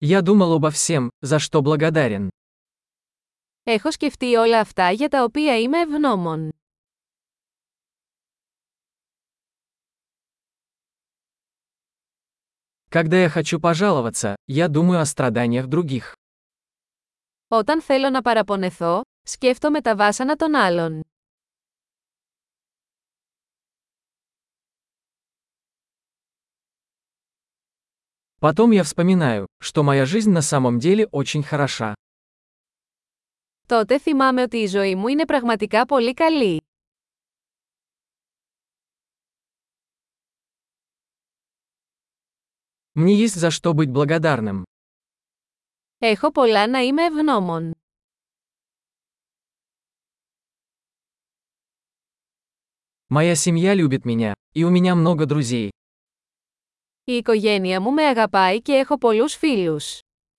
Я думал обо всем, за что благодарен. Έχω σκεφτεί όλα αυτά για τα οποία είμαι ευγνώμων. Когда я хочу пожаловаться, я думаю о страданиях других. Όταν θέλω να παραπονεθώ, σκέφτομαι τα βάσανα των άλλων. Потом я вспоминаю, что моя жизнь на самом деле очень хороша. Τότε θυμάμαι ότι η ζωή μου είναι πραγματικά πολύ καλή. Мне есть за что быть благодарным. Έχω πολλά να είμαι ευγνώμων. Моя семья любит меня, и у меня много друзей. Η οικογένεια μου με αγαπάει και έχω πολλούς φίλους.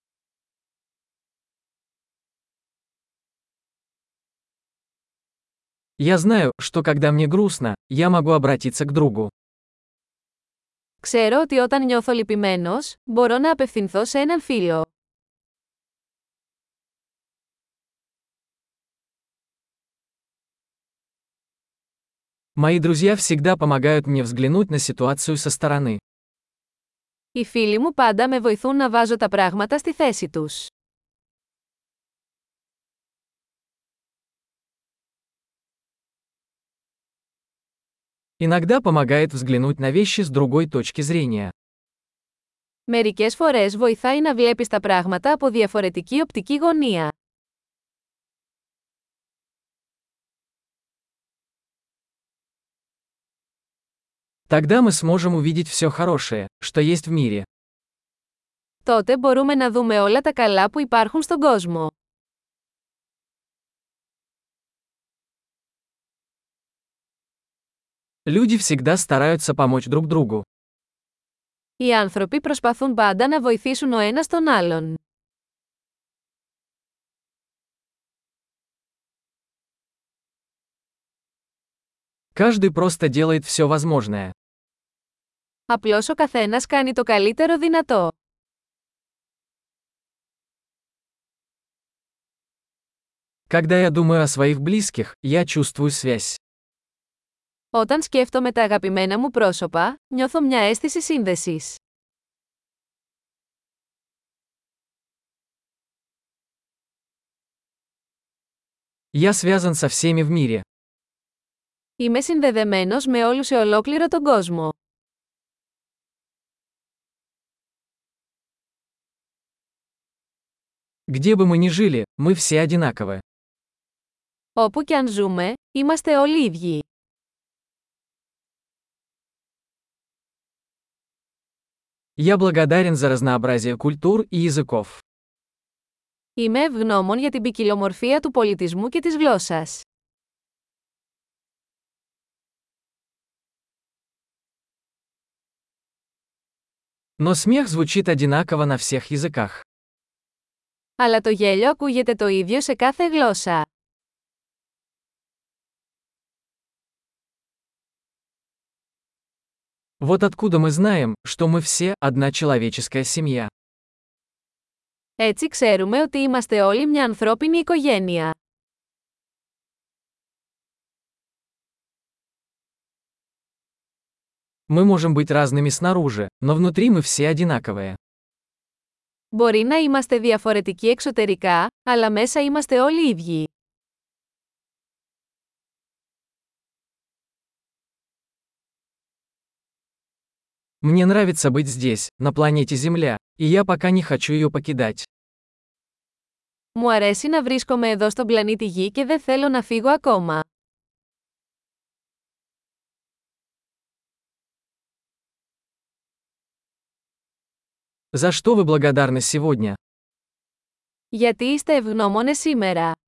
Я знаю, что когда мне грустно, я могу обратиться к другу. Ξέρω ότι όταν νιώθω λυπημένος, μπορώ να απευθυνθώ σε έναν φίλο. Мои друзья всегда помогают мне взглянуть на ситуацию со стороны. Οι φίλοι μου πάντα με βοηθούν να βάζω τα πράγματα στη θέση τους. Иногда помогает взглянуть на вещи с другой точки зрения. Μερικές φορές βοηθάει να βλέπεις τα πράγματα από διαφορετική οπτική γωνία. Тогда мы сможем увидеть все хорошее, что есть в мире. Τότε μπορούμε να δούμε όλα τα καλά που υπάρχουν στον κόσμο. Люди всегда стараются помочь друг другу. Οι άνθρωποι προσπαθούν πάντα να βοηθήσουν ο ένας τον άλλον. Каждый просто делает все возможное. Απλώς ο καθένας κάνει το καλύτερο δυνατό. Когда я думаю о своих близких, я чувствую связь. Όταν σκέφτομαι τα αγαπημένα μου πρόσωπα, νιώθω μια αίσθηση σύνδεσης. Я связан со всеми в мире. Είμαι συνδεδεμένος με όλους σε ολόκληρο τον κόσμο. Где бы мы ни жили, мы все одинаковы. Όπου κι αν ζούμε, είμαστε όλοι ίδιοι. Я благодарен за разнообразие культур и языков. Είμαι ευγνώμων για την ποικιλομορφία του πολιτισμού και της γλώσσας. Но смех звучит одинаково на всех языках. Αλλά το γέλιο ακούγεται το ίδιο σε κάθε γλώσσα. Вот откуда мы знаем, что мы все одна человеческая семья. Έτσι ξέρουμε ότι είμαστε όλοι μια ανθρώπινη οικογένεια. Мы можем быть разными снаружи, но внутри мы все одинаковые. Μπορεί να είμαστε διαφορετικοί εξωτερικά, αλλά μέσα είμαστε όλοι ίδιοι. Мне нравится быть здесь, на планете Земля, и я пока не хочу ее покидать. Μου αρέσει να βρίσκομαι εδώ στον πλανήτη Γη και δεν θέλω να φύγω ακόμα. За что вы благодарны сегодня? Γιατί είστε ευγνώμονες σήμερα.